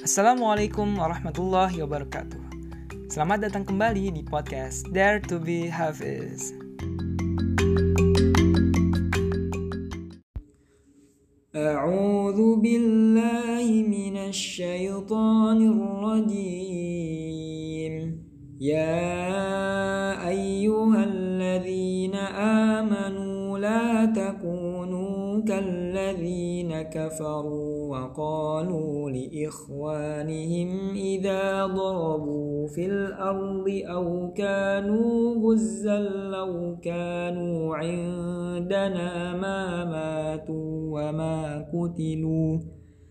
Assalamualaikum warahmatullahi wabarakatuh. Selamat datang kembali di podcast Dare to be Hafiz. A'udzu billahi minasy syaithanir rajim. Ya ayyuhalladzina amanu la takunu kalladzina kafaru wa qalu li ikhwanihim idza darabu fil ardi aw kanu ghuzzan law kanu 'indana ma matu wa ma kutilu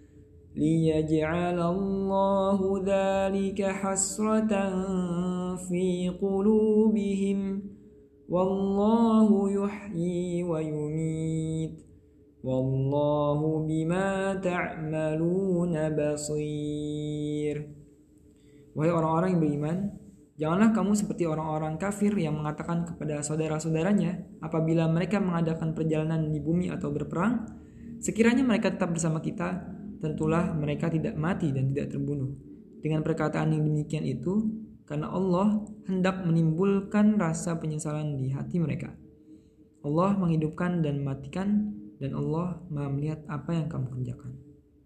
liyaj'alallahu dzalika hasratan fi qulubihim wallahu yuhyi wa yumit wallahu bima ta'maluna basir. Wahai orang-orang yang beriman, janganlah kamu seperti orang-orang kafir yang mengatakan kepada saudara-saudaranya apabila mereka mengadakan perjalanan di bumi atau berperang, sekiranya mereka tetap bersama kita, tentulah mereka tidak mati dan tidak terbunuh. Dengan perkataan yang demikian itu, karena Allah hendak menimbulkan rasa penyesalan di hati mereka. Allah menghidupkan dan mematikan, dan Allah Maha melihat apa yang kamu kerjakan.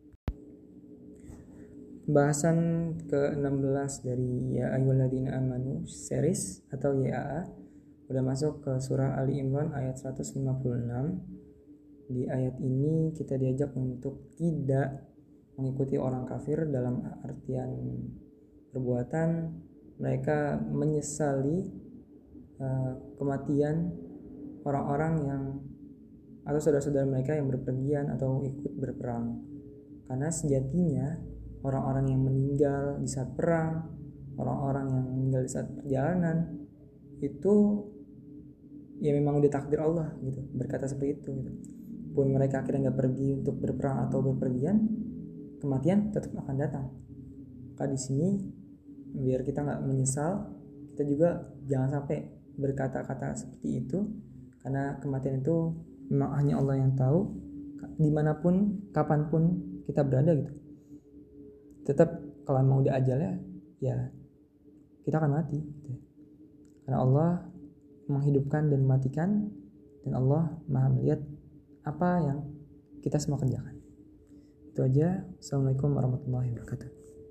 Pembahasan ke-16 dari Ya Ayyuhalladzina Amanu series atau YAA udah masuk ke surah Ali Imran ayat 156. Di ayat ini kita diajak untuk tidak mengikuti orang kafir dalam artian perbuatan mereka menyesali kematian orang-orang yang atau saudara-saudara mereka yang berpergian atau ikut berperang. Karena sejatinya orang-orang yang meninggal di saat perang, orang-orang yang meninggal di saat perjalanan itu ya memang udah takdir Allah gitu, berkata seperti itu gitu. Pun mereka akhirnya nggak pergi untuk berperang atau berpergian, kematian tetap akan datang. Maka di sini biar kita nggak menyesal, kita juga jangan sampai berkata-kata seperti itu, karena kematian itu memang hanya Allah yang tahu. Dimanapun, kapanpun kita berada gitu, tetap kalau memang udah ajalnya, ya kita akan mati gitu. Karena Allah menghidupkan dan mematikan, dan Allah Maha melihat apa yang kita semua kerjakan. Itu aja. Assalamualaikum warahmatullahi wabarakatuh.